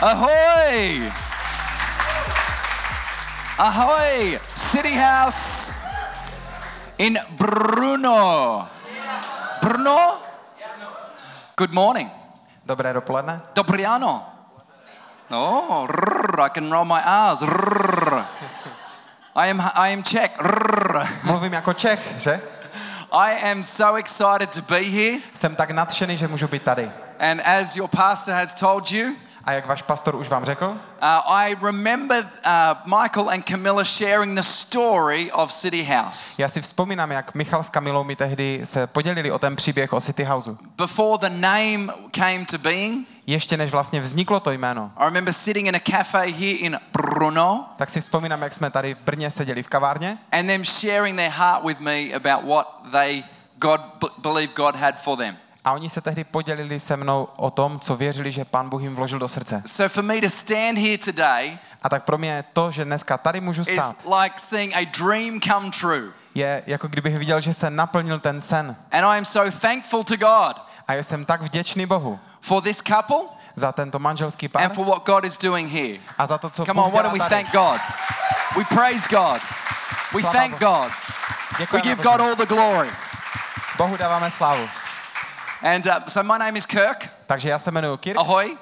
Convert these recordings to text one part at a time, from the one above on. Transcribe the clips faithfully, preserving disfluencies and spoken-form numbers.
Ahoy! Ahoy! City House in Brno. Brno? Good morning. Dobré dopoledne. Dobrý ráno. Oh, rrr, I can roll my R's. Rrr. I am I am Czech. Rrr. Mluvím jako Čech, že? I am so excited to be here. Jsem tak nadšený, že můžu být tady. And as your pastor has told you, A jak váš pastor už vám řekl, uh, I remember uh, Michael and Camilla sharing the story of City House. já si vzpomínám, jak Michal s Kamilou mi tehdy se podělili o ten příběh o City Houseu. Before the name came to being, Ještě než vlastně vzniklo to jméno, I remember sitting in a cafe here in Brno tak si vzpomínám, jak jsme tady v Brně seděli v kavárně and them sharing their heart with me about what they God b- believed God had for them. a oni se tehdy podělili se mnou o tom, co věřili, že Pán Bůh jim vložil do srdce. So for me to stand here today A tak pro mě to, že dneska tady můžu is stát, like seeing a dream come true. je jako kdybych viděl, že se naplnil ten sen. And I am so thankful to God A já jsem tak vděčný Bohu for this couple za tento manželský pár and for what God is doing here. a za to, co Come on, Bůh why dělá don't we tady. thank God? We praise God. We Slava thank Bohu. God. We Děkujeme give Bohu. God all the glory. Bohu dáváme slávu. And uh, so my name is Kirk. Takže já se jmenuji Kirk Ahoy.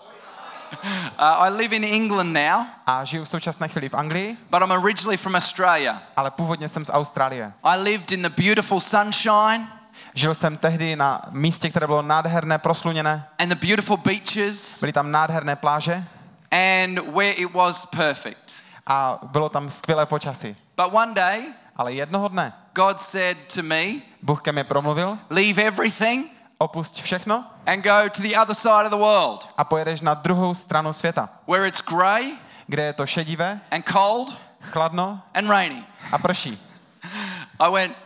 Uh, I live in England now, a žiju v současné chvíli v Anglii, but I'm originally from Australia. ale původně jsem z Austrálie. I lived in the beautiful sunshine Žil jsem tehdy na místě, které bylo nádherné, prosluněné. and the beautiful beaches Byly tam nádherné pláže and where it was perfect. a bylo tam skvělé počasí. But one day, Ale jednoho dne God said to me, Bůh ke mně promluvil, leave everything opusť všechno and go to the other side of the world a pojedeš na druhou stranu světa, where it's grey kde je to šedivé, and cold chladno and rainy. a prší. I went,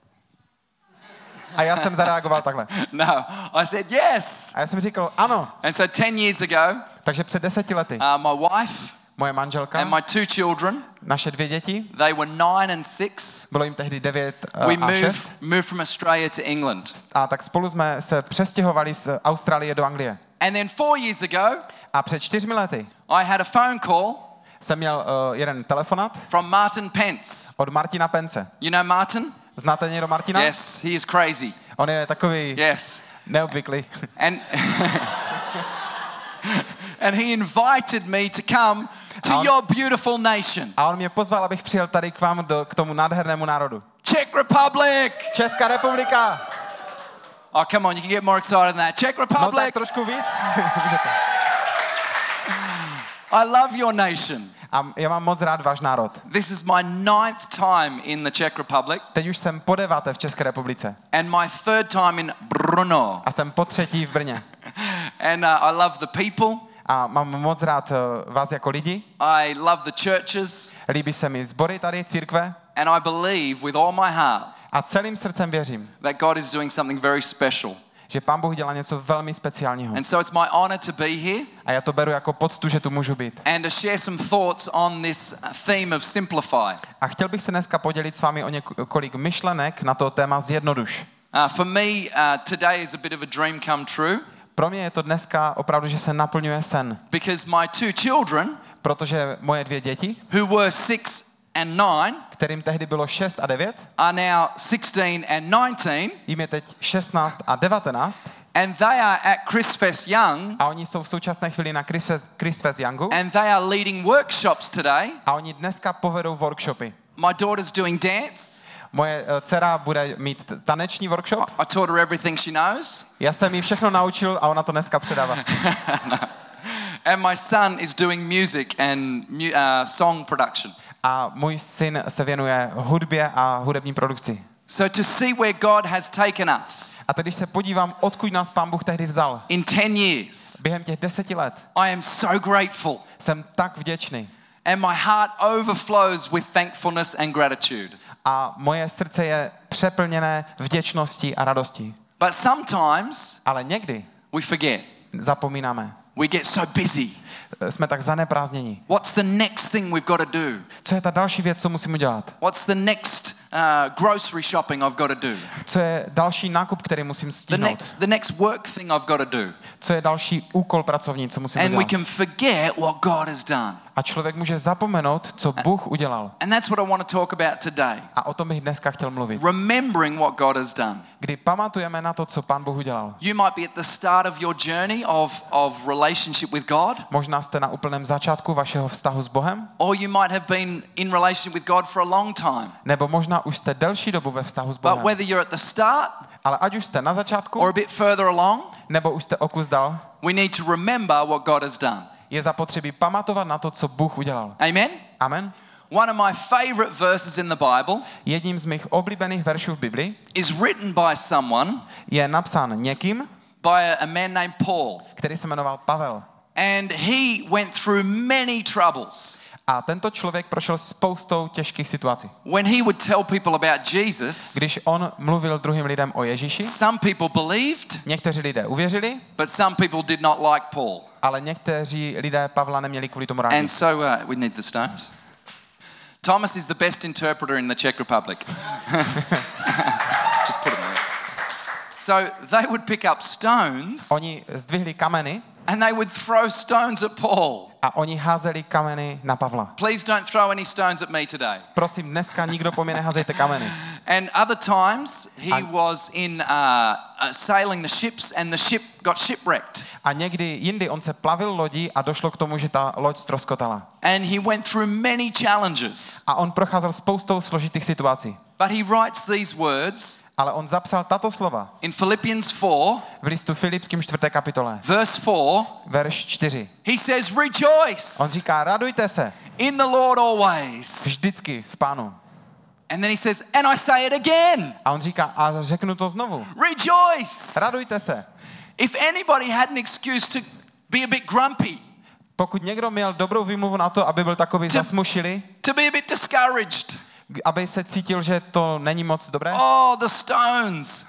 A já jsem zareagoval takhle. no. I said, yes. A já jsem říkal, ano. And so ten years ago, Takže před deseti lety uh, my wife moje manželka, and my two children, naše dvě děti, they were nine and six. bylo jim tehdy devět We uh, a šest. moved, moved from Australia to England. A tak spolu jsme se přestěhovali z Austrálie do Anglie. And then four years ago, A před čtyřmi lety I had a phone call jsem měl uh, jeden telefonát from Martin Pence. od Martina Pence. You know Martin? Znáte někdo Martina? Yes, he is crazy. On je takový Yes. neobvyklý. And and he invited me to come to A on- your beautiful nation. A on mě pozval, abych přijel tady k vám, do, k tomu nádhernému národu. Czech Republic. Česká republika! Oh, come on, you can get more excited than that. Czech No tak Republic. trošku víc. I love your nation. A já mám moc rád váš národ. This is my ninth time in the Czech Republic Teď už jsem po deváté v České republice. and my third time in Brno. A jsem po třetí v Brně. And uh, I love the people. A mám moc rád uh, vás jako lidi. I love the churches. Líbí se mi sbory tady, církve. And I believe with all my heart A celým srdcem věřím, that God is doing something very special. že Pán Bůh dělá něco velmi speciálního. And so it's my honor to be here A já to beru jako poctu, že tu můžu být. and to share some thoughts on this theme of simplify. A chtěl bych se dneska podělit s vámi o několik myšlenek na to téma zjednoduš. Uh, for me, uh, today is a bit of a dream come true Pro mě je to dneska opravdu, že se naplňuje sen. because my two children, Protože moje dvě děti, who were six and nine, kterým tehdy bylo šest a devět, are now sixteen and nineteen, jim je teď šestnáct a devatenáct and they are at Christfest Young, a oni jsou v současné chvíli na Christfest, Christfest Youngu and they are leading workshops today. a oni dneska povedou workshopy. My daughter's doing dance. Moje eh, dcera bude mít t- taneční workshop. I taught her everything she knows. Já jsem jí všechno naučil a ona to dneska předává. And my son is doing music and mu- uh, song production. A můj syn se věnuje hudbě a hudební produkci. So to see where God has taken us A teď, když se podívám, odkud nás Pán Bůh tehdy vzal, in ten years, během těch deseti let, I am so grateful. jsem tak vděčný. And my heart overflows with thankfulness and gratitude. A moje srdce je přeplněné vděčností a radostí. But sometimes Ale někdy we forget. zapomínáme. We get so busy. Jsme tak zaneprázdnění. What's the next thing we've got to do? Co je ta další věc, co musím udělat? What's the next uh, grocery shopping I've got to do? Co je další nákup, který musím The stihnout? next, the next work thing I've got to do? co je další úkol pracovní, co musím And we udělat. can forget what God has done. A člověk může zapomenout, co Bůh udělal. And that's what I want to talk about today. A o tom bych dneska chtěl mluvit. Remembering what God has done. Kdy pamatujeme na to, co Pán Bůh udělal. You might be at the start of your journey of, of relationship with God. Možná jste na úplném začátku vašeho vztahu s Bohem. Or you might have been in relationship with God for a long time. Nebo možná už jste delší dobu ve vztahu s But Bohem. whether you're at the start Ale ať už jste na začátku, or a bit further along, nebo už jste o kus dál, we need to remember what God has done. je zapotřebí pamatovat na to, co Bůh udělal. Amen? Amen. One of my favorite verses in the Bible Jedním z mých oblíbených veršů v Bibli is written by someone, je napsán někým, by a, a man named Paul. který se jmenoval Pavel. And he went through many troubles. A tento člověk prošel spoustou těžkých situací. When he would tell people about Jesus, Když on mluvil druhým lidem o Ježíši, some people believed, někteří lidé uvěřili, but some people did not like Paul. ale někteří lidé Pavla neměli kvůli tomu rádi. And so uh, we need the stones. Thomas is the best interpreter in the Czech Republic. Just put him there. So they would pick up stones Oni zdvihli kameny and they would throw stones at Paul. a oni házeli kameny na Pavla. Please don't throw any stones at me today. Prosím, dneska nikdo po mě neházejte kameny. And other times he was in uh, uh, sailing the ships and the ship got shipwrecked. A někdy jindy on se plavil lodí a došlo k tomu, že ta loď ztroskotala. And he went through many challenges. A on procházel spoustou složitých situací. But he writes these words Ale on zapsal tato slova in Philippians four, v listu Filipským čtvrté kapitole, verse four. verš čtyři. He says, rejoice On říká, radujte se in the Lord always. vždycky v Pánu. And then he says, and I say it again, A on říká, a řeknu to znovu, rejoice. radujte se. If anybody had an excuse to be a bit grumpy, Pokud někdo měl dobrou výmluvu na to, aby byl takový zasmušilý, to be a bit discouraged, aby se cítil, že to není moc dobré, oh, the stones,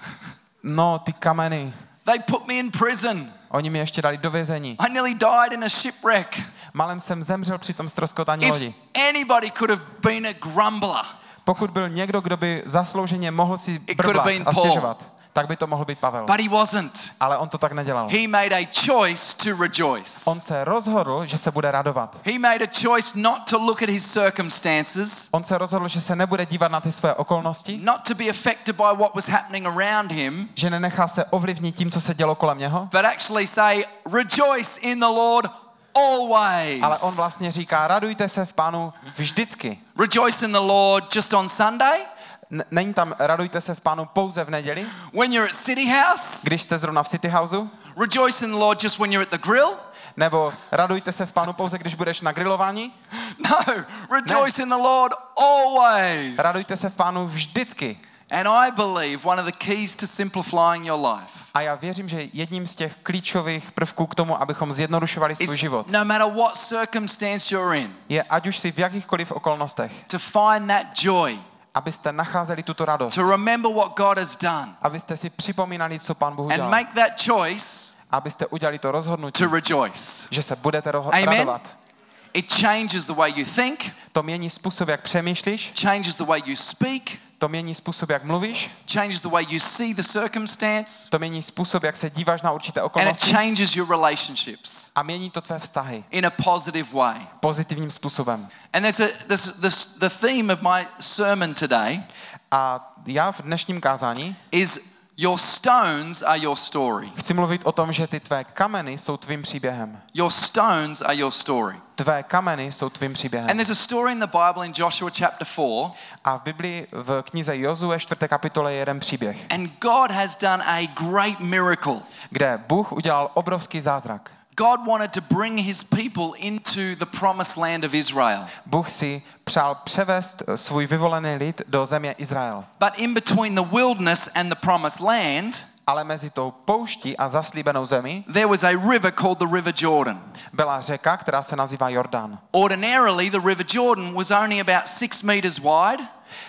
no ty kameny, they put me in prison. oni mi ještě dali do vězení. I nearly died in a shipwreck. Malem jsem zemřel při tom ztroskotání lodi. If anybody could have been a grumbler, Pokud byl někdo, kdo by zaslouženě mohl si It could have brblat been a Paul. stěžovat, tak by to mohl být Pavel. but he wasn't. Ale on to tak nedělal. He made a choice to rejoice. On se rozhodl, že se bude radovat. He made a choice not to look at his circumstances, On se rozhodl, že se nebude dívat na ty své okolnosti, not to be affected by what was happening around him, že nenechá se ovlivnit tím, co se dělo kolem něho, but actually say, rejoice in the Lord always. ale on vlastně říká, radujte se v Pánu vždycky. Rejoice in the Lord just on Sunday, N- není tam radujte se v Pánu pouze v neděli, when you're at City House. když jste zrovna v City Houseu, Rejoice in the Lord just when you're at the grill. nebo radujte se v Pánu pouze, když budeš na grilování. No, rejoice in the Lord always. Radujte se v Pánu vždycky. And I believe one of the keys to simplifying your life A já věřím, že jedním z těch klíčových prvků k tomu, abychom zjednodušovali svůj is život, no matter what circumstance you're in, je, ať už si v jakýchkoliv okolnostech, to find that joy, abyste nacházeli tuto radost, to remember what God has done, abyste si připomínali, co Pán Bůh and udělal, make that choice abyste udělali to rozhodnutí, to rejoice. že se budete ro- Amen. radovat. It changes the way you think, To mění způsob, jak přemýšlíš, changes the way you speak, to mění způsob, jak mluvíš, changes the way you see the circumstance, to mění způsob, jak se díváš na určité and it okolnosti changes your relationships a mění to tvé vztahy in a positive way. pozitivním způsobem. And there's a there's this, the theme of my sermon today A já v dnešním kázání is your stones are your story. chci mluvit o tom, že ty tvé kameny jsou tvým příběhem. Your stones are your story. Tvé kameny jsou tvým And příběhem. there's a story in the Bible in Joshua chapter four, A v Biblii v knize Jozue čtvrté kapitole je jeden příběh, and God has done a great miracle. kde Bůh udělal obrovský zázrak. God wanted to bring his people into the promised land of Israel. Bůh si přál převést svůj vyvolený lid do země Izrael. But in between the wilderness and the promised land, Ale mezi tou pouští a zaslíbenou zemí there was a river called the River Jordan. byla řeka, která se nazývá Jordán. Ordinarily, the River Jordan was only about six meters wide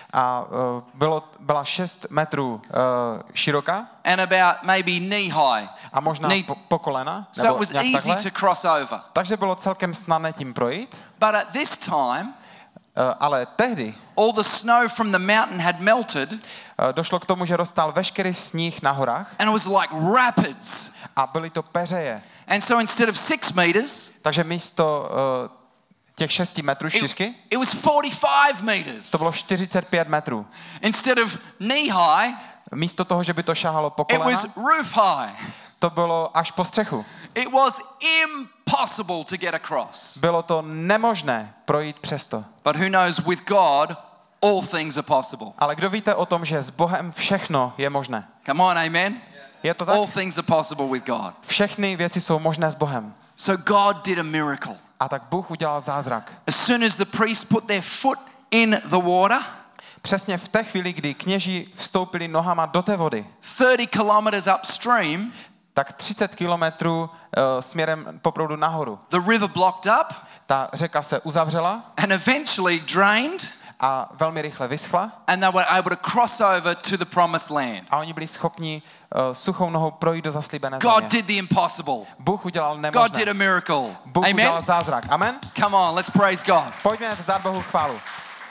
A uh, bylo, byla šest metrů uh, široká and about maybe knee high. a možná Knee- po, po kolena. So it Nebo was nějak easy takhle. to cross over. Takže bylo celkem snadné tím projít. But at this time, ale tehdy all the snow from the mountain had melted, došlo k tomu, že roztal veškerý sníh na horách and it was like rapids. a byly to peřeje. And so instead of six meters, Takže místo uh, těch šesti metrů šířky, it, it was forty-five meters. to bylo čtyřicet pět metrů. Instead of knee high, Místo toho, že by to šahalo po it kolena, was roof high. to bylo až po střechu. It was impossible to get across. Bylo to nemožné projít přes to. But who knows, with God, all things are possible. Ale kdo víte o tom, že s Bohem všechno je možné? Come on, amen? Je to tak? All things are possible with God. Všechny věci jsou možné s Bohem. So God did a miracle. A tak Bůh udělal zázrak. As soon as the priests put their foot in the water, Přesně v té chvíli, kdy kněží vstoupili nohama do té vody, thirty kilometers upstream, tak třicet kilometrů uh, směrem po proudu nahoru. the river blocked up Ta řeka se uzavřela and eventually drained, a velmi rychle vyschla and they were able to cross over to the promised land. a oni byli schopni uh, suchou nohou projít do zaslíbené God země. did the impossible. Bůh udělal God nemožné. did a miracle. Bůh Amen? udělal zázrak. Amen? Come on, let's praise God. Pojďme vzdát Bohu chválu.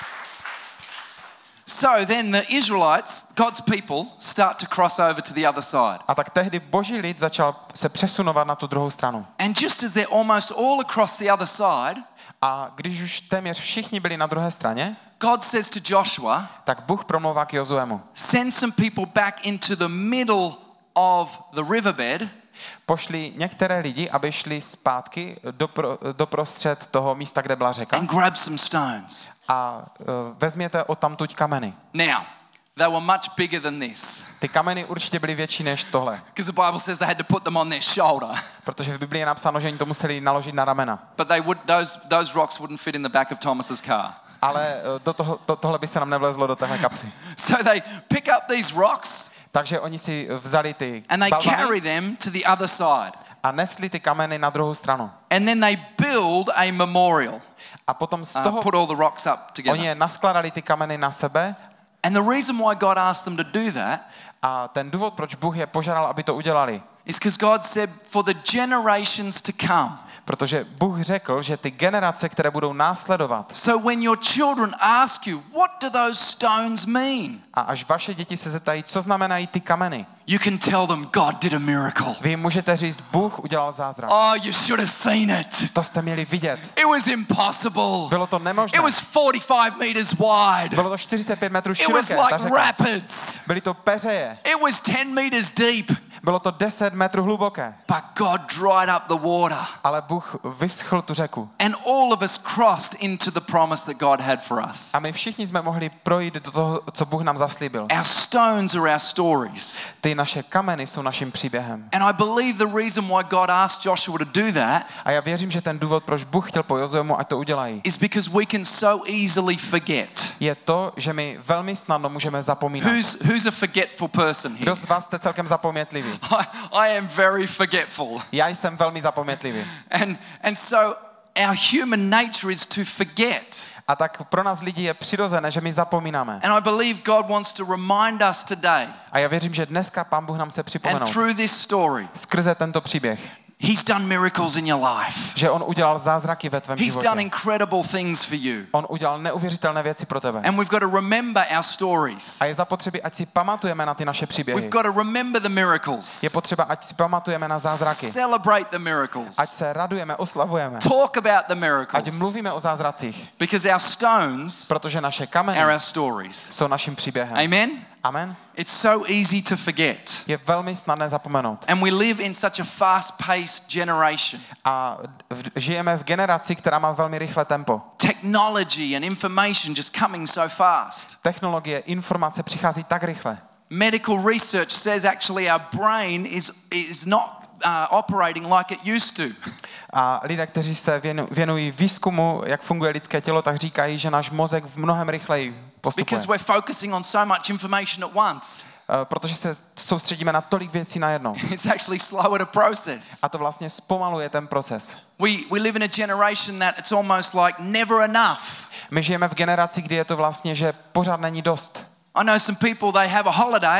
So then the Israelites, God's people, start to cross over to the other side. A tak tehdy boží lid začal se přesunovat na tu druhou stranu. And just as they're almost all across the other side, A když už téměř všichni byli na druhé straně, God says to Joshua, tak Bůh promlouvá k Jozuemu. send some people back into the middle of the riverbed Pošli některé lidi, aby šli zpátky do, pro, do prostřed toho místa, kde byla řeka and grab some stones. a uh, vezměte odtamtud kameny. Now, they were much bigger than this, Ty kameny určitě byly větší než tohle, because the Bible says they had to put them on their shoulder. protože v Biblii je napsáno, že oni to museli naložit na ramena. But they would, those, those rocks wouldn't fit in the back of Thomas's car. Ale uh, do toho, to, tohle by se nám nevlezlo do téhle kapsy. So they pick up these rocks Takže oni si vzali ty and they balvany carry them to the other side. a nesli ty kameny na druhou stranu. And then they build a memorial. A potom z Uh, toho put all the rocks up oni together. je naskladali ty kameny na sebe And the reason why God asked them to do that a ten důvod, proč Bůh je požádal, aby to udělali, is because God said, for the generations to come. protože Bůh řekl, že ty generace, které budou následovat, So when your children ask you, what do those stones mean? a až vaše děti se zeptají, co znamenají ty kameny, You can tell them God did a miracle. vy jim můžete říct, Bůh udělal zázrak. Oh, you should have seen it. To jste měli vidět. It was impossible. Bylo to nemožné. It was forty-five meters wide. Bylo to čtyřicet pět metrů It was široké, ta like řeka. rapids. Byly to peřeje. It was ten meters deep. Bylo to deset metrů hluboké. But God dried up the water. Ale Bůh vyschl tu řeku. And all of us crossed into the promise that God had for us. A my všichni jsme mohli projít do toho, co Bůh nám zaslíbil. Our stones are our stories. Ty naše kameny jsou naším příběhem. And I believe the reason why God asked Joshua to do that A já věřím, že ten důvod, proč Bůh chtěl po Jozuemu, ať to udělají, is because we can so easily forget. je to, že my velmi snadno můžeme zapomínat. Who's who's a forgetful person here? Kdo z vás jste celkem zapomnětlivý? I, I am very forgetful. Já jsem velmi zapomnětlivý. And and so our human nature is to forget. A tak pro nás lidi je přirozené, že my zapomínáme. And I believe God wants to remind us today, A já věřím, že dneska Pán Bůh nám chce and připomenout through this story, skrze tento příběh, He's done miracles in your life. že on udělal zázraky ve tvém He's done životě. incredible things for you. On udělal neuvěřitelné věci pro tebe. And we've got to remember our stories. A je zapotřebí, ať si pamatujeme na ty naše We've příběhy. got to remember the miracles. Je potřeba, ať si pamatujeme na zázraky. Celebrate the miracles. Ať se radujeme, oslavujeme. Talk about the Ať miracles. mluvíme o zázracích. Because our stones Protože naše are kameny our stories. jsou naším příběhem. Amen? Amen. It's so easy to forget. Je velmi snadné zapomenout. And we live in such a fast-paced generation. A v, žijeme v generaci, která má velmi rychlé tempo. Technology and information just coming so fast. Technologie, informace přichází tak rychle. Medical research says actually our brain is, is not uh, operating like it used to. A lidé, kteří se věnu, věnují výzkumu, jak funguje lidské tělo, tak říkají, že náš mozek v mnohem rychleji postupuje. Because we're focusing on so much information at once. Uh, protože se soustředíme na tolik věcí najednou. It's actually slower to process. A to vlastně zpomaluje ten proces. We, we live in a generation that it's almost like never enough. My žijeme v generaci, kdy je to vlastně, že pořád není dost. I know some people, they have a holiday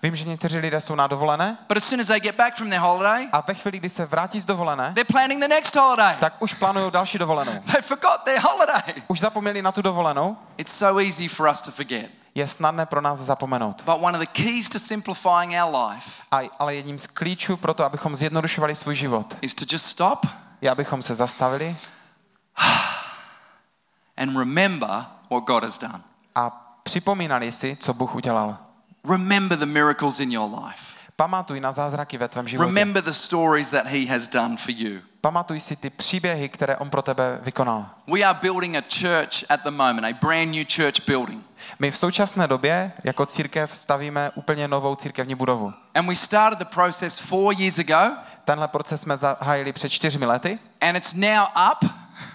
Vím, že někteří lidé jsou na dovolené but as soon as they get back from their holiday, a ve chvíli, kdy se vrátí z dovolené, they're planning the next holiday. tak už plánují další dovolenou. They forgot their holiday. Už zapomněli na tu dovolenou. It's so easy for us to forget. Je snadné pro nás zapomenout. But one of the keys to simplifying our life A, ale jedním z klíčů pro to, abychom zjednodušovali svůj život, is to just stop je, abychom se zastavili and remember what God has done. a připomínali si, co Bůh udělal. Remember the miracles in your life. Pamatuj na zázraky ve tvém životě. Remember the stories that he has done for you. Pamatuj si ty příběhy, které on pro tebe vykonal. We are building a church at the moment, a brand new church building. My v současné době jako církev stavíme úplně novou církevní budovu. And we started the process four years ago. Tenhle proces jsme zahájili před čtyřmi lety. And it's now up.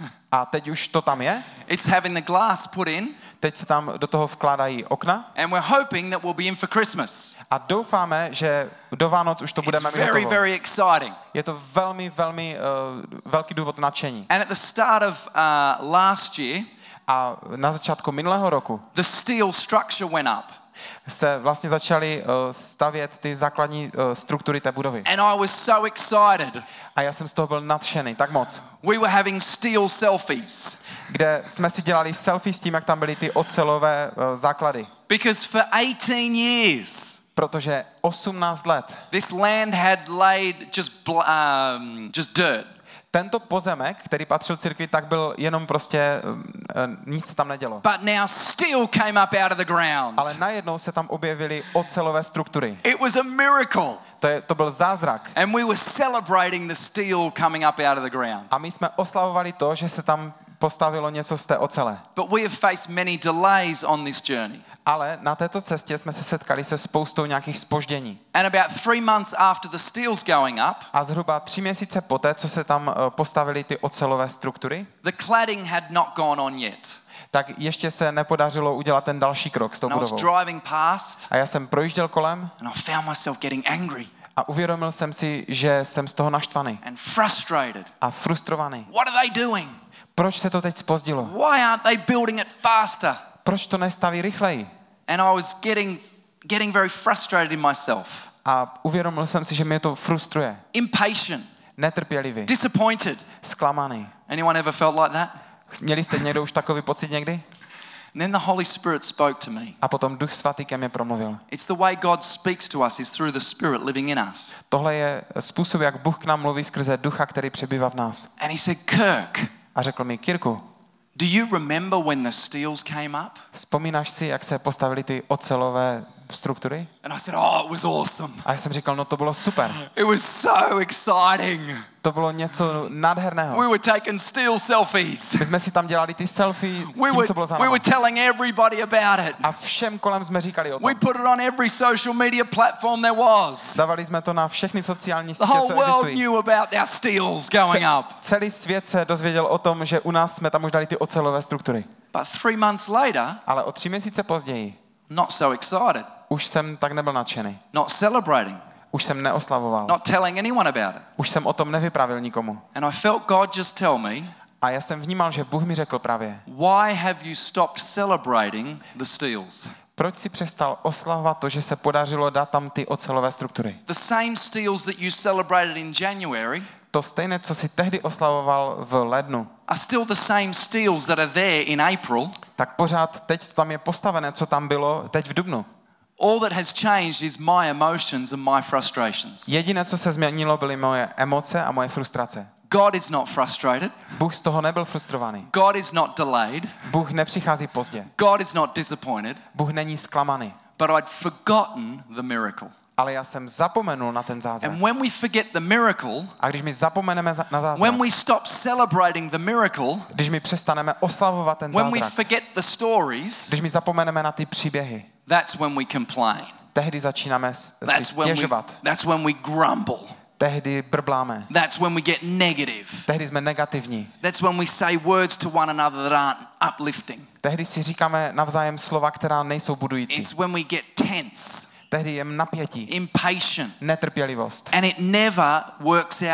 A teď už to tam je. It's having the glass put in. Teď se tam do toho vkládají okna. And we're hoping that we'll be in for Christmas. A doufáme, že do Vánoc už to budeme It's mít very, hotovo. very exciting. Je to velmi, velmi uh, velký důvod nadšení. And at the start of uh, last year, A na začátku minulého roku the steel structure went up. se vlastně začaly uh, stavět ty základní uh, struktury té budovy. And I was so excited. A já jsem z toho byl nadšený, tak moc. We were having steel selfies. Kde jsme si dělali selfie s tím, jak tam byly ty ocelové uh, základy. Because for eighteen years, Protože osmnáct let this land had laid just bl- um, just dirt. tento pozemek, který patřil církvi, tak byl jenom prostě, uh, nic se tam nedělo. But now steel came up out of the ground. Ale najednou se tam objevily ocelové struktury. It was a miracle. To, je, to byl zázrak. And we were celebrating the steel coming up out of the ground. A my jsme oslavovali to, že se tam postavilo něco z té ocele. But we have faced many delays on this journey. Ale na této cestě jsme se setkali se spoustou nějakých zpoždění. And about three months after the steel's going up, A zhruba tři měsíce poté, co se tam uh, postavily ty ocelové struktury, the cladding had not gone on yet. tak ještě se nepodařilo udělat ten další krok s tou And I was budovou. driving past A já jsem projížděl kolem and I found myself getting angry a uvědomil jsem si, že jsem z toho naštvaný and frustrated. a frustrovaný. What are they doing? Proč se to teď zpozdilo? Why aren't they building it faster? Proč to nestaví rychleji? And I was getting getting very frustrated in myself. A uvědomil jsem si, že mě to frustruje. Impatient, Netrpělivý, disappointed. zklamaný. Anyone ever felt like that? Měli jste někdo už takový pocit někdy? And then the Holy Spirit spoke to me. A potom Duch Svatý ke mně promluvil. It's the way God speaks to us is through the Spirit living in us. Tohle je způsob, jak Bůh k nám mluví skrze Ducha, který přebývá v nás. And he said, Kirk, A řekl mi, Kirku, do you remember when the steels came up? vzpomínáš si, jak se postavily ty ocelové struktury? And I said, oh, it was awesome. A já jsem říkal, no to bylo super. It was so exciting. To bylo něco nádherného. We were taking steel selfies. My jsme si tam dělali ty selfie s We tím, were, co bylo za we náma. were telling everybody about it. A všem kolem jsme říkali o We tom. put it on every social media platform there was. Dávali jsme to na všechny sociální The sítě, whole co world existují. knew about our steels going Ce- up. celý svět se dozvěděl o tom, že u nás jsme tam už dali ty ocelové struktury. But three months later, Ale o tři měsíce později not so excited, už jsem tak nebyl nadšený. not celebrating, Už jsem neoslavoval. not telling anyone about it. Už jsem o tom nevyprávěl nikomu. And I felt God just tell me, A já jsem vnímal, že Bůh mi řekl právě, why have you stopped celebrating the steels? proč si přestal oslavovat to, že se podařilo dát tam ty ocelové struktury? The same steels that you celebrated in January To stejné, co si tehdy oslavoval v lednu, are still the same steels that are there in April. tak pořád teď tam je postavené, co tam bylo teď v dubnu. All that has changed is my emotions and my frustrations. Jediné, co se změnilo, byly moje emoce a moje frustrace. God is not frustrated. Bůh z toho nebyl frustrovaný. God is not delayed. Bůh nepřichází pozdě. God is not disappointed. Bůh není zklamaný. But I'd forgotten the miracle. Ale já jsem zapomenul na ten zázrak. And when we forget the miracle, A když my zapomeneme za- na zázrak, when we stop celebrating the miracle, když my přestaneme oslavovat ten when we zázrak, forget the stories, když my zapomeneme na ty příběhy, that's when we complain. tehdy začínáme s- si That's when we, stěžovat. that's when we grumble. Tehdy brbláme. That's when we get negative. Tehdy jsme negativní. That's when we say words to one another that aren't uplifting. Tehdy si říkáme navzájem slova, která nejsou budující. It's when we get tense, Tehdy je napětí, impatient, netrpělivost. and it never works out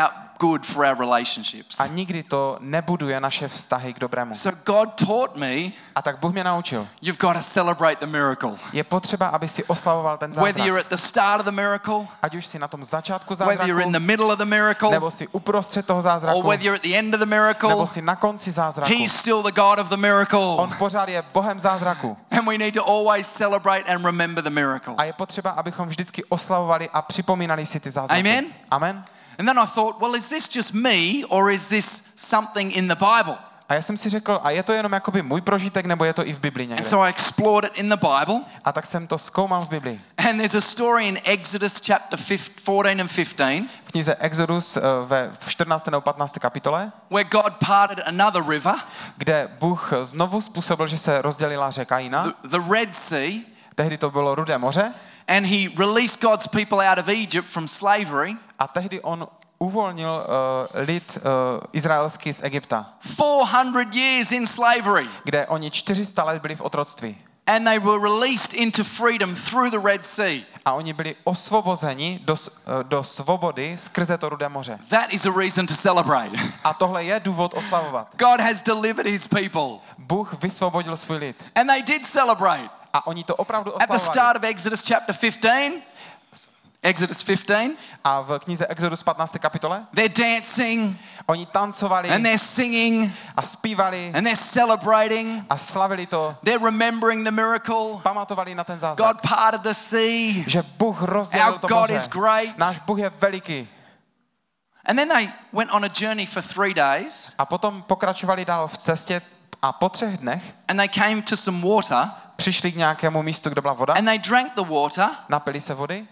good for our relationships. A nikdy to nebuduje naše vztahy k dobrému. So God taught me, A tak Bůh mě naučil. you've got to celebrate the miracle. Je potřeba, aby si oslavoval ten Whether zázrak. you're at the start of the miracle, Ať už si na tom začátku whether you're in the zázraku, middle of the miracle, nebo si uprostřed toho or zázraku, whether you're at the end of the nebo miracle, si na konci zázraku. He's still the God of the miracle. On pořád je Bohem zázraku. And we need to always celebrate and remember the miracle. A je potřeba, abychom vždycky oslavovali a připomínali si ty zázraky. Amen? Amen. And then I thought, well, is this just me or is this something in the Bible? A já jsem si řekl, a je to jenom jakoby můj prožitek, nebo je to i v Biblii And někde? so I explored it in the Bible. A tak jsem to zkoumal v Biblii. And there's a story in Exodus chapter fourteen and fifteen V knize Exodus eh, ve čtrnácté nebo patnácté kapitole, where God parted another river, kde Bůh znovu způsobil, že se rozdělila řeka jiná. the, the Red Sea, Tehdy to bylo Rudé moře. and he released God's people out of Egypt from slavery. A tehdy on uvolnil uh, lid uh, izraelský z Egypta, four hundred years in slavery. kde oni čtyři sta let byli v otroctví. And they were released into freedom through the Red Sea. A oni byli osvobozeni do, s- uh, do svobody skrze to Rudé moře. That is a reason to celebrate. A tohle je důvod oslavovat. God has delivered his people. Bůh vysvobodil svůj lid. And they did celebrate. A oni to opravdu At the oslavovali. start of Exodus chapter fifteen, Exodus fifteen, A v knize Exodus patnácté kapitole they're dancing oni tancovali and they're singing a zpívali and they're celebrating. a slavili to. They're remembering the miracle. Pamatovali na ten zázrak. God parted the sea. Že Bůh rozdělil Our to God moře. is great. Náš Bůh je veliký. And then they went on a journey for three days A potom pokračovali dál v cestě a po třech dnech and they came to some water přišli k nějakému místu, kde byla voda, and they drank the water. napili se vody,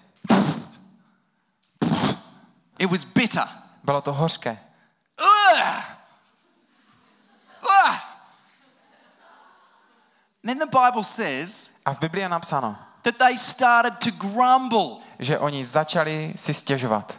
It was bitter. bylo to hořké. Ugh! Ugh! Then the Bible says A v Biblii je napsáno, that they started to grumble. že oni začali si stěžovat.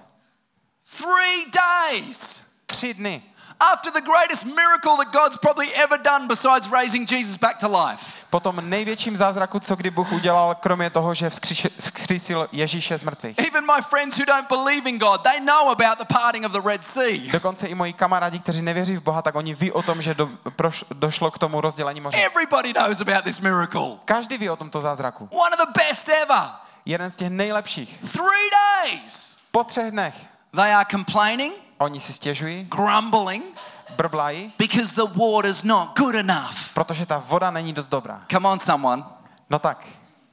Three days Tři dny after the greatest miracle that God's probably ever done besides raising Jesus back to life. po tom největším zázraku, co kdy Bůh udělal, kromě toho, že vzkříš- vzkřísil Ježíše z mrtvých. Even my friends who don't believe in God, they know about the parting of the Red Sea. Dokonce i moji kamarádi, kteří nevěří v Boha, tak oni ví o tom, že do, proš, došlo k tomu rozdělení moře. Everybody knows about this miracle. Každý ví o tomto zázraku. One of the best ever. Jeden z těch nejlepších. Three days. Po třech dnech They are complaining, oni si stěžují, grumbling, brblají, because the water's not good enough. protože ta voda není dost dobrá. Come on, someone. No tak,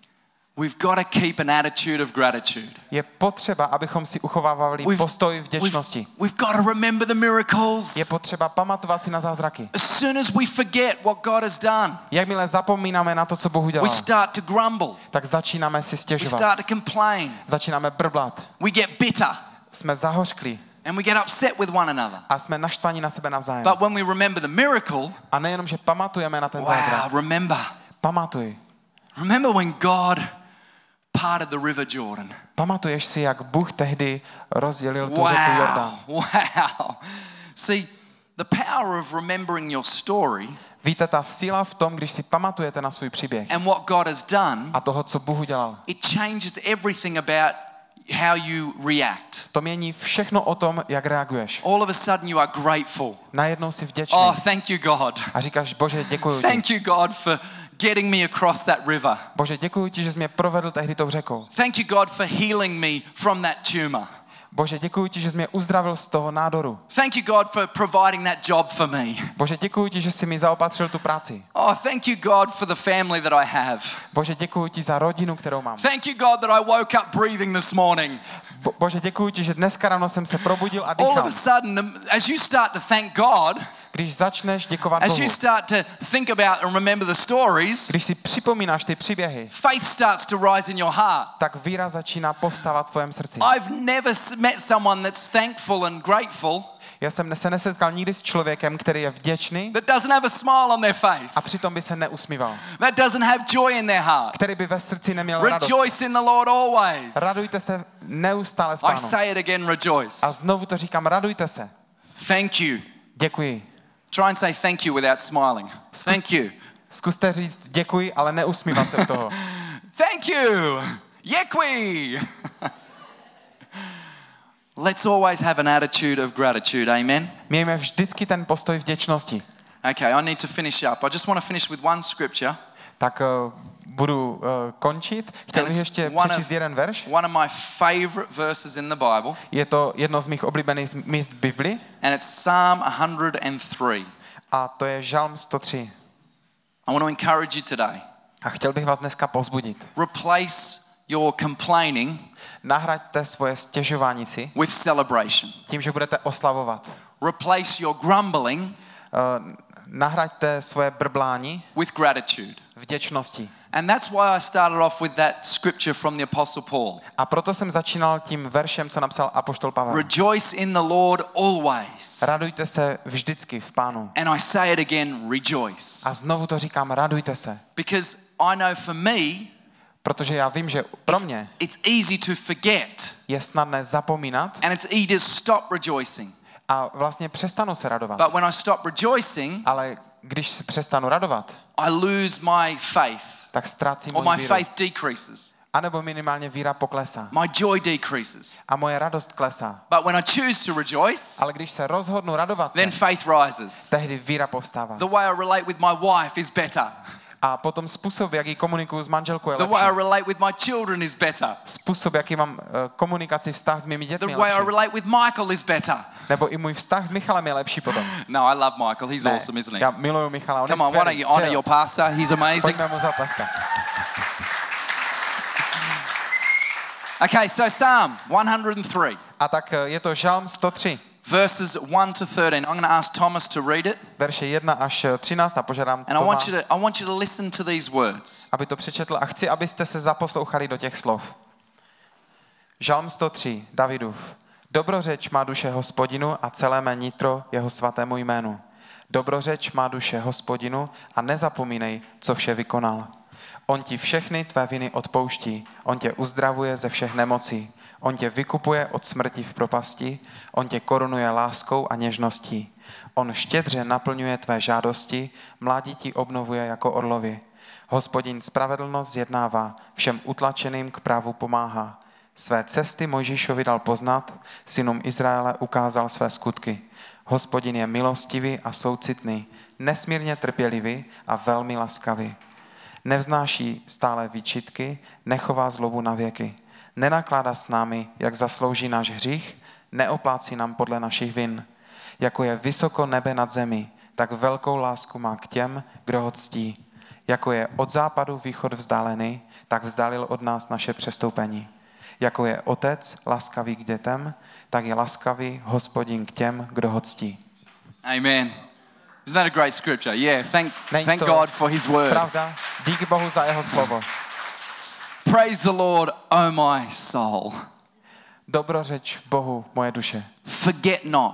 We've got to keep an attitude of gratitude. je potřeba, abychom si uchovávali We've- postoj We've, vděčnosti. we've got to remember the miracles. Je potřeba pamatovat si na zázraky. As soon as we forget what God has done, Jakmile zapomínáme na to, co Bůh we udělal, start to grumble. tak začínáme si We stěžovat. start to complain. Začínáme brblat. We get bitter Jsme zahořklí and we get upset with one another. a jsme naštvaní na sebe navzájem. But when we remember the miracle, A nejenom, že pamatujeme na ten zázrak. wow, remember. Pamatuj. Remember when God parted the river Jordan. Pamatuješ si, jak Bůh tehdy rozdělil tu řeku Wow, Jordán. wow. See, the power of remembering your story Víte, ta síla v tom, když si pamatujete na svůj příběh and what God has done, a toho, co Bůh udělal, it changes everything about how you react. to mění všechno o tom, jak reaguješ. All of a sudden you are grateful. Najednou jsi vděčný Oh, thank you, God. a říkáš, Bože, děkuji ti. Thank you, God, for getting me across that river. Bože, děkuji ti, že jsi mě provedl tehdy tou řekou. Thank you, God, for healing me from that tumor. Bože, děkuji ti, že jsi mě uzdravil z toho nádoru. Thank you, God, for providing that job for me. Bože, děkuji ti, že jsi mi zaopatřil tu práci. Oh, thank you, God, for the family that I have. Bože, děkuji ti za rodinu, kterou mám. Thank you, God, that I woke up breathing this morning. Bo- Bože, děkuji ti, že dneska ráno jsem se probudil a All of a dýchal. sudden, as you start to thank God, Když začneš děkovat as Bohu, you start to think about and remember the stories, když si připomínáš ty příběhy, faith starts to rise in your heart. tak víra začíná povstávat v tvém srdci. I've never s- met someone that's thankful and grateful Já jsem se nesetkal nikdy s člověkem, který je vděčný that doesn't have a smile on their face, a přitom by se neusmíval. that doesn't have joy in their heart. Který by ve srdci neměl radost. Rejoice in the Lord always. Radujte se neustále v I Pánu. say it again, rejoice. A znovu to říkám, radujte se. Thank you. Děkuji. Try and say thank you without smiling. Thank you. Zkuste říct děkuji, ale neusmívat se u toho. Thank you. Děkuji. Let's always have an attitude of gratitude, amen? Mějme vždycky ten postoj vděčnosti. Okay, I need to finish up. I just want to finish with one scripture. Tak uh, budu uh, končit. Chtěl bych ještě přečíst jeden verš. One of my favorite verses in the Bible. Je to jedno z mých oblíbených míst v Bibli. And it's Psalm one hundred three. A to je Žalm sto tři. I want to encourage you today. A chtěl bych vás dneska povzbudit. Replace your complaining Nahraďte svoje stěžování si with celebration. tím, že budete oslavovat. Replace your grumbling Uh, nahraďte svoje brblání with gratitude. vděčností. And that's why I started off with that scripture from the Apostle Paul. A proto jsem začínal tím veršem, co napsal apoštol Pavel. Rejoice in the Lord always. Radujte se vždycky v Pánu. And I say it again, rejoice. A znovu to říkám, radujte se. Because I know for me, Protože já vím, že pro mě it's easy to forget. je snadné zapomínat And it's easy to stop rejoicing. a vlastně přestanu se radovat. But when I stop rejoicing, Ale když se přestanu radovat, I lose my faith. tak ztrácím Or moji my víru. faith decreases. A nebo minimálně víra poklesá. My joy decreases. A moje radost klesá. But when I choose to rejoice, Ale když se rozhodnu radovat se, then faith rises. tehdy víra povstává. The way I relate with my wife is better. A potom způsob, jak ji komunikuju s manželkou, je The way I lepší. relate with my children is better. Způsob, jaký mám eh, komunikaci, vztah s mými The dětmi, je way I lepší. relate with Michael is better. Nebo i můj vztah s Michalem je lepší potom. No, I love Michael. He's Ne, awesome, isn't he? já miluju Michala, on Come je on, why don't skvělý. you honor že jo? your pastor? He's amazing. Pojďme mu zatleskat. Okay, so Psalm one hundred three, A tak eh, je to Žalm sto tři, verses one to thirteen. I'm going to ask Thomas to read it. verše jedna až třináct a požádám And I Toma, want you to I want you to listen to these words. aby to přečetl a chci, abyste se zaposlouchali do těch slov. Žalm sto tři, Davidův. Dobrořeč má duše Hospodinu a celé mé nitro jeho svatému jménu. Dobrořeč má duše Hospodinu a nezapomínej, co vše vykonal. On ti všechny tvé viny odpouští, on tě uzdravuje ze všech nemocí, on tě vykupuje od smrti v propasti, on tě korunuje láskou a něžností. On štědře naplňuje tvé žádosti, mládí ti obnovuje jako orlovi. Hospodin spravedlnost zjednává, všem utlačeným k právu pomáhá. Své cesty Mojžíšovi dal poznat, synům Izraele ukázal své skutky. Hospodin je milostivý a soucitný, nesmírně trpělivý a velmi laskavý. Nevznáší stále výčitky, nechová zlobu na věky. Nenakládá s námi, jak zaslouží náš hřích, neoplácí nám podle našich vin. Jako je vysoko nebe nad zemi, tak velkou lásku má k těm, kdo ho ctí. Jako je od západu východ vzdálený, tak vzdálil od nás naše přestoupení. Jako je otec laskavý k dětem, tak je laskavý Hospodin k těm, kdo ho ctí. Amen. Isn't that a great scripture? Yeah, thank, Není thank to God for his word. Pravda? Díky Bohu za jeho slovo. Praise the Lord, oh my soul. Dobrořeč Bohu, moje duše. Forget not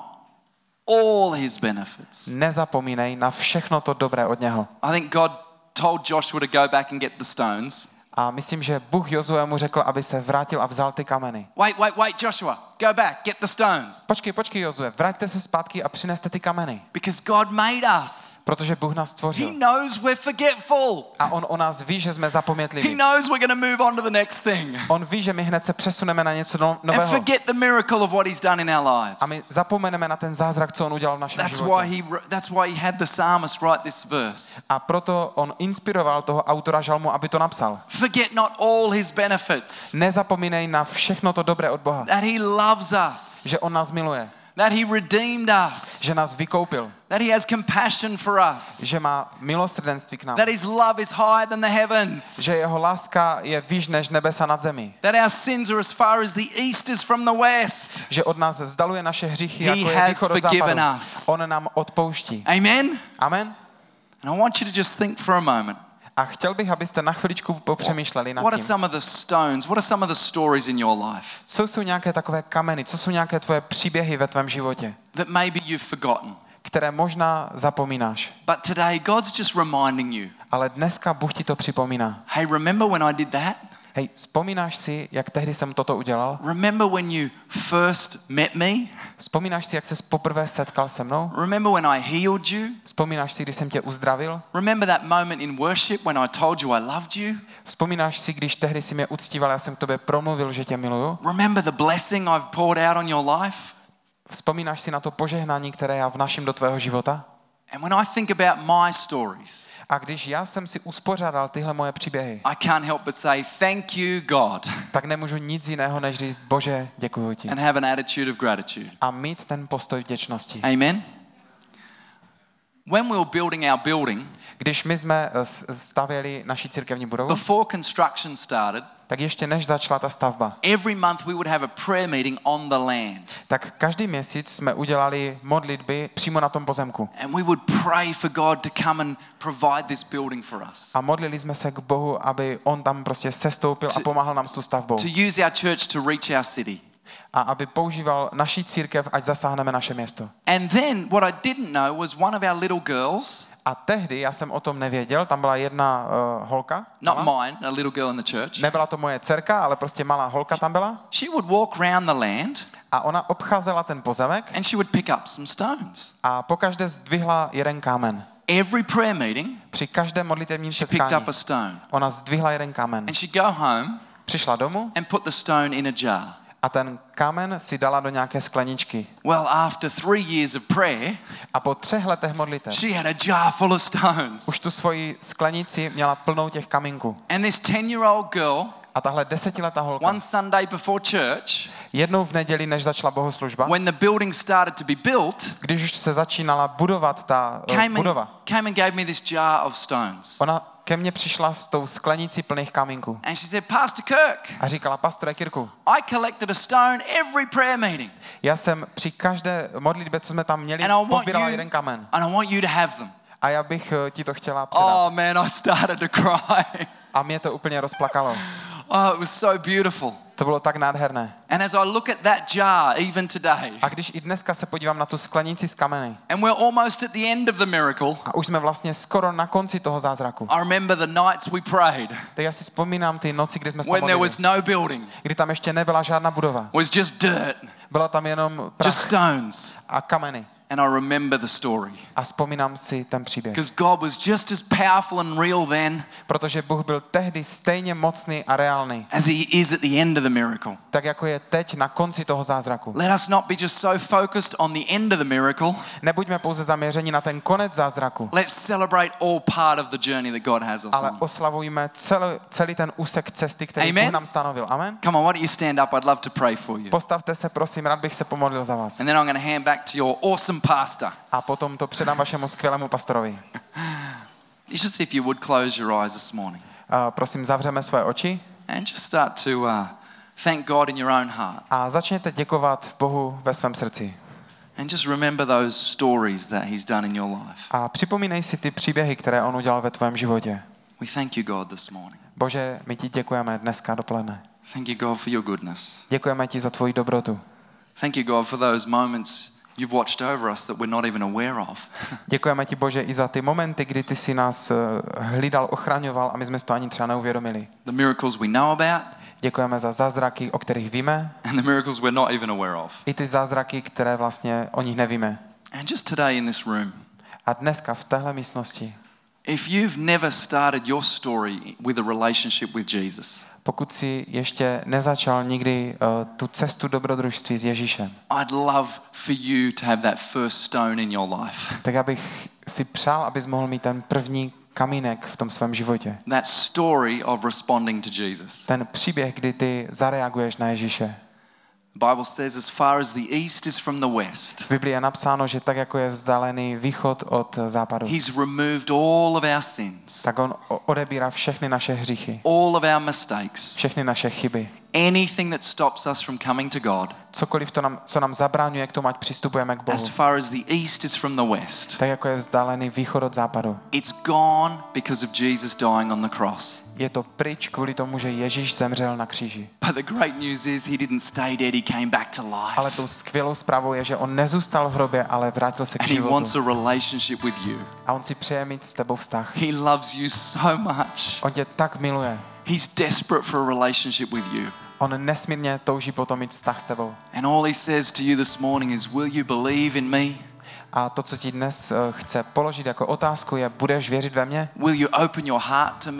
all his benefits. Nezapomínej na všechno to dobré od něho. I think God told Joshua to go back and get the stones. A myslím, že Bůh Jozuemu řekl, aby se vrátil a vzal ty kameny. Wait, wait, wait, Joshua, go back, get the stones. Počkej, počkej, Jozue, vraťte se zpátky a přineste ty kameny. Because God made us. Protože Bůh nás He stvořil. knows we're forgetful. A on o nás ví, že jsme He zapomnětliví. knows we're going to move on to the next thing. On ví, že my hned se přesuneme na něco no- And nového. forget the miracle of what he's done in our lives. A my zapomeneme na ten zázrak, co on udělal v našem That's why životě. he that's why he had the psalmist write this verse. A proto on inspiroval toho autora žalmu, aby to napsal. Forget not all his benefits. Nezapomínej na všechno to dobré od Boha. That he loves us. Že on nás miluje. That he redeemed us. Že nás vykoupil. That he has compassion for us. Že má milosrdenství k nám. That his love is higher than the heavens. Že jeho láska je výš než nebesa nad zemí. That our sins are as far as the east is from the west. Že od nás vzdaluje naše hříchy, He jako je has východ od forgiven západu. us. On nám odpouští. Amen? Amen. And I want you to just think for a moment. A chtěl bych, abyste na chviličku popřemýšleli nad What are tím. some of the stones? What are some of the stories in your life Co jsou nějaké takové kameny, co jsou nějaké tvoje příběhy ve tvém životě, that maybe you've forgotten? které možná zapomínáš. But today God's just reminding you. Ale dneska Bůh ti to připomíná. Hey, remember when I did that? Hej, vzpomínáš si, jak tehdy jsem toto udělal? Remember when you first met me? Vzpomínáš si, jak ses poprvé setkal se mnou? Remember when I healed you? Vzpomínáš si, když jsem tě uzdravil? Remember that moment in worship when I told you I loved you? Vzpomínáš si, když tehdy si mě uctíval, já jsem k tobě promluvil, že tě miluju? Remember the blessing I've poured out on your life? Vzpomínáš si na to požehnání, které já vnáším do tvého života? And when I think about my stories, A když já jsem si uspořádal tyhle moje příběhy, I can't help but say thank you, God, tak nemůžu nic jiného, než říct, Bože, děkuju ti. and have an attitude of gratitude. A mít ten postoj vděčnosti. Amen. When we were building our building, Když my jsme eh, s- stavěli naši církevní budovu, before construction started, tak ještě než začala ta stavba, every month we would have a prayer meeting on the land. tak každý měsíc jsme udělali modlitby přímo na tom pozemku. And we would pray for God to come and provide this building for us. A modlili jsme se k Bohu, aby on tam prostě sestoupil a To- pomáhal nám s tou stavbou. To use our church to reach our city. A aby používal naší církev, ať zasáhneme naše město. And then what I didn't know was one of our little girls, A tehdy, já jsem o tom nevěděl, tam byla jedna uh, holka. not malá. mine, a little girl in the church, Nebyla to moje dcerka, ale prostě malá holka tam byla. she would walk around the land A ona obcházela ten pozemek and she would pick up some stones. a pokaždé zdvihla jeden kámen. Every prayer meeting, Při každém modlitevním she picked setkání up a stone. ona zdvihla jeden kámen. And she'd go home Přišla domů and put the stone in a jar. a ten kámen si dala do nějaké skleničky. Well, after three years of prayer, A po třech letech modlitev she had a jar full of stones. už tu svoji sklenici měla plnou těch kamínků. And this ten-year-old girl, A tahle desetiletá holka one Sunday before church, jednou v neděli, než začala bohoslužba, when the building started to be built, když už se začínala budovat ta uh, came and, budova, came and gave me this jar of stones. ona ke mně přišla s tou sklenicí plných kamínků And she said, Pastor Kirk, a říkala, pastore Kirku, I collected a stone every prayer meeting. já jsem při každé modlitbě, co jsme tam měli, And I want pozbírala you, jeden kamen. and I want you to have them. A já bych uh, ti to chtěla předat. Oh man, I started to cry. A mě to úplně rozplakalo. Oh, it was so beautiful. To bylo tak nádherné. And as I look at that jar, even today, A když i dneska se podívám na tu sklenici z kameny and we're almost at the end of the miracle, a už jsme vlastně skoro na konci toho zázraku, I remember the nights we prayed tak já si vzpomínám ty noci, kdy jsme se tam when there modlili, was no building, kdy tam ještě nebyla žádná budova. was just dirt, Byla tam jenom just prach stones. a kameny. And I remember the story. A vzpomínám si ten příběh. Because God was just as powerful and real then Protože Bůh byl tehdy stejně mocný a reálný, as he is at the end of the miracle. tak jako je teď na konci toho zázraku. Let us not be just so focused on the end of the miracle. Nebuďme pouze zaměřeni na ten konec zázraku, Let's celebrate all part of the journey that God has us ale on. oslavujme celý, celý ten úsek cesty, který Amen. Bůh nám stanovil. Amen. Come on, why don't you stand up? I'd love to pray for you. Postavte se, prosím, rád bych se pomodlil za vás. And then I'm going to hand back to your awesome pastor. A potom to předám vašemu skvělému pastorovi. Just if you would close your eyes this morning A prosím, zavřeme své oči and just start to uh, thank God in your own heart. a začněte děkovat Bohu ve svém srdci. And just remember those stories that he's done in your life. A připomínej si ty příběhy, které on udělal ve tvém životě. We thank you, God, this morning. Bože, my ti děkujeme dneska dopoledne. Thank you, God, for your goodness. Děkujeme ti za tvoji dobrotu. Thank you, God, for those moments you've watched over us that we're not even aware of. Děkujeme ti, Bože, i za ty momenty, kdy ty si nás eh, hlídal, ochraňoval a my jsme si to ani třeba neuvědomili. The miracles we know about Děkujeme za zázraky, o kterých víme, and the miracles we're not even aware of. i ty zázraky, které vlastně o nich nevíme. And just today in this room, A dneska v téhle místnosti, if you've never started your story with a relationship with Jesus, pokud si ještě nezačal nikdy uh, tu cestu dobrodružství s Ježíšem, I'd love for you to have that first stone in your life. tak já bych si přál, abys mohl mít ten první kamínek v tom svém životě. That story of responding to Jesus. Ten příběh, kdy ty zareaguješ na Ježíše. The Bible says as far as the east is from the west, V Biblii je napsáno, že tak jako je vzdálený východ od západu, he's removed all of our sins, tak on o- odebírá všechny naše hříchy, all of our mistakes, všechny naše chyby. anything that stops us from coming to God. Cokoliv, to nám, co nám zabraňuje k tomu, ať přistupujeme k As Bohu. far as the east is from the west, Tak jako je vzdálený východ od západu. it's gone because of Jesus dying on the cross. Je to pryč kvůli tomu, že Ježíš zemřel na kříži. But the great news is he didn't stay dead, he came back to Ale life. tou skvělou zprávou je, že on nezůstal v hrobě, ale vrátil se k And he wants životu. a relationship with you. A on si přeje mít s tebou vztah. He loves you so much. On tě tak miluje. He's desperate for a relationship with you. On nesmírně touží potom mít vztah s tebou. And all he says to you this morning is, will you believe in me? A to, co ti dnes eh, chce položit jako otázku, je, budeš věřit ve mě? Will you open your heart to me?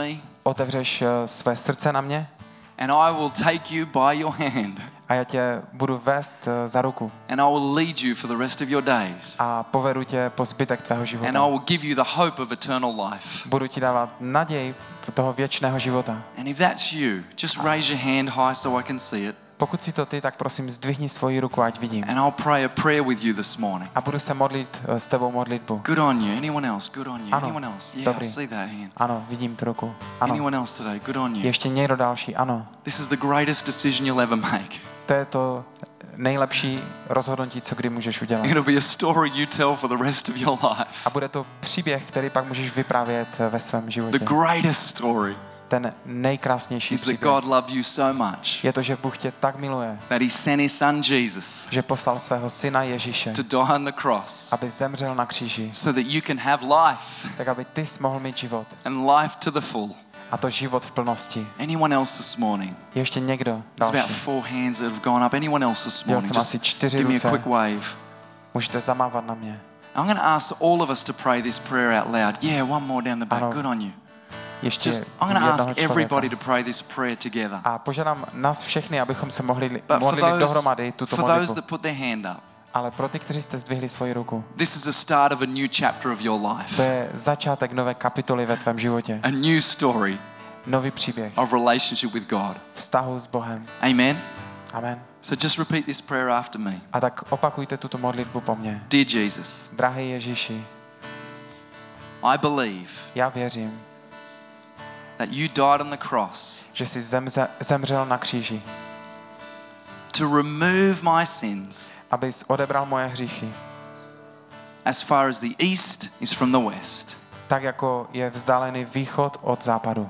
otevřeš eh, své srdce na mě and I will take you by your hand a já tě budu vést eh, za ruku and I will lead you for the rest of your days a povedu tě po zbytek tvého and I života. will give you the hope of eternal life. Budu ti dávat naději toho věčného života. And if that's you, just raise your hand high so I can see it. Pokud si to ty, tak prosím zdvihni svoji ruku, ať vidím. And I'll pray a prayer with you this morning. A budu se modlit eh, s tebou modlitbu. Good on you. Anyone else? Good on you. Ano. Anyone else? Yeah, I Dobrý. see that hand. Ano, vidím tu ruku. Ano. Anyone else today? Good on you. Ještě někdo další? Ano. This is the greatest decision you'll ever make. To je to nejlepší rozhodnutí, co kdy můžeš udělat. It'll be a story you tell for the rest of your life. A bude to příběh, který pak můžeš vyprávět ve svém životě. The greatest story Ten nejkrásnější is that příběh God loved you so much je to, že Bůh tě tak miluje, that he sent his son Jesus že poslal svého syna Ježíše, to die on the cross aby zemřel na kříži, so that you can have life tak aby ty jsi mohl mít život. and life to the full. A to život v plnosti. Anyone else this morning? Je ještě někdo There's about další? four hands that have gone up. Anyone else this Viděl morning? jsem asi Just čtyři give me a ruce. quick wave. Můžete zamávat na mě. I'm going to ask all of us to pray this prayer out loud. Yeah, one more down the back. Ano. Good on you. Ještě Just, I'm going to jednoho ask everybody člověka. to pray this prayer together. A požádám nás všechny, abychom se mohli But for modlili those, dohromady tuto for those modlitbu. that put their hand up, Ale pro ty, kteří jste zdvihli svoji ruku, this is the start of a new chapter of your to life. je začátek nové kapitoly ve tvém životě. A new story Nový příběh of relationship with God. vztahu s Bohem. Amen. Amen. So just repeat this prayer after me. A tak opakujte tuto modlitbu po mně. Dear Jesus, Drahý Ježíši, I believe já věřím, that you died on the cross že jsi zemze, zemřel na kříži, to remove my sins abys odebral moje hříchy, as far as the east is from the west. tak jako je vzdálený východ od západu.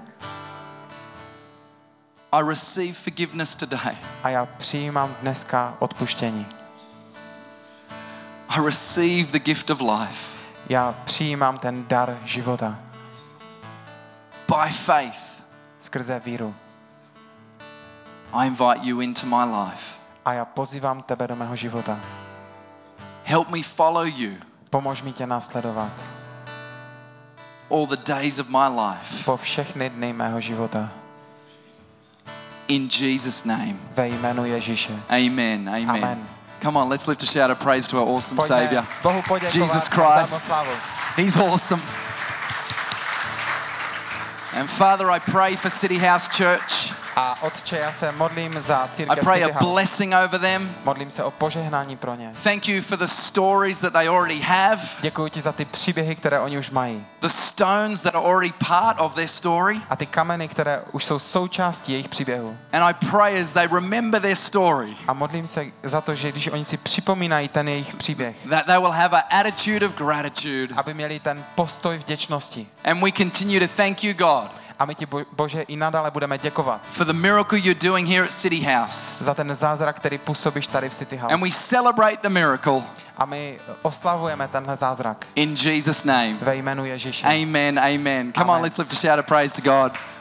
I receive forgiveness today. A já přijímám dneska odpuštění. I receive the gift of life. Já přijímám ten dar života By faith, skrze víru. I invite you into my life. A já pozývám tebe do mého života. Help me follow you Pomož mi tě následovat all the days of my life. po všechny dny mého života. In Jesus' name. Ve jménu Ježíše. Amen. Amen. Amen. Come on, let's lift a shout of praise to our awesome Pojďme Savior. Bohu poděkovat. Jesus a vzdát mu Christ. slávu. He's awesome. And Father, I pray for City House Church. A Otče, já se modlím za I církev pray City a House. blessing over them. Modlím se o požehnání pro ně. Thank you for the stories that they already have, Děkuji ti za ty příběhy, které oni už mají. the stones that are already part of their story. A ty kameny, které už jsou součástí jejich příběhu. And I pray as they remember their story A modlím se za to, že když oni si připomínají ten jejich příběh, that they will have an attitude of gratitude. aby měli ten postoj vděčnosti. And we continue to thank you, God, A my ti, Bo- Bože, i nadále budeme děkovat for the miracle you're doing here at City House. za ten zázrak, který působíš tady v City And we House. celebrate the miracle A my oslavujeme tenhle zázrak in Jesus' name. ve jménu Ježíše. Amen, amen. Come on, Amen. let's lift a shout of praise to God.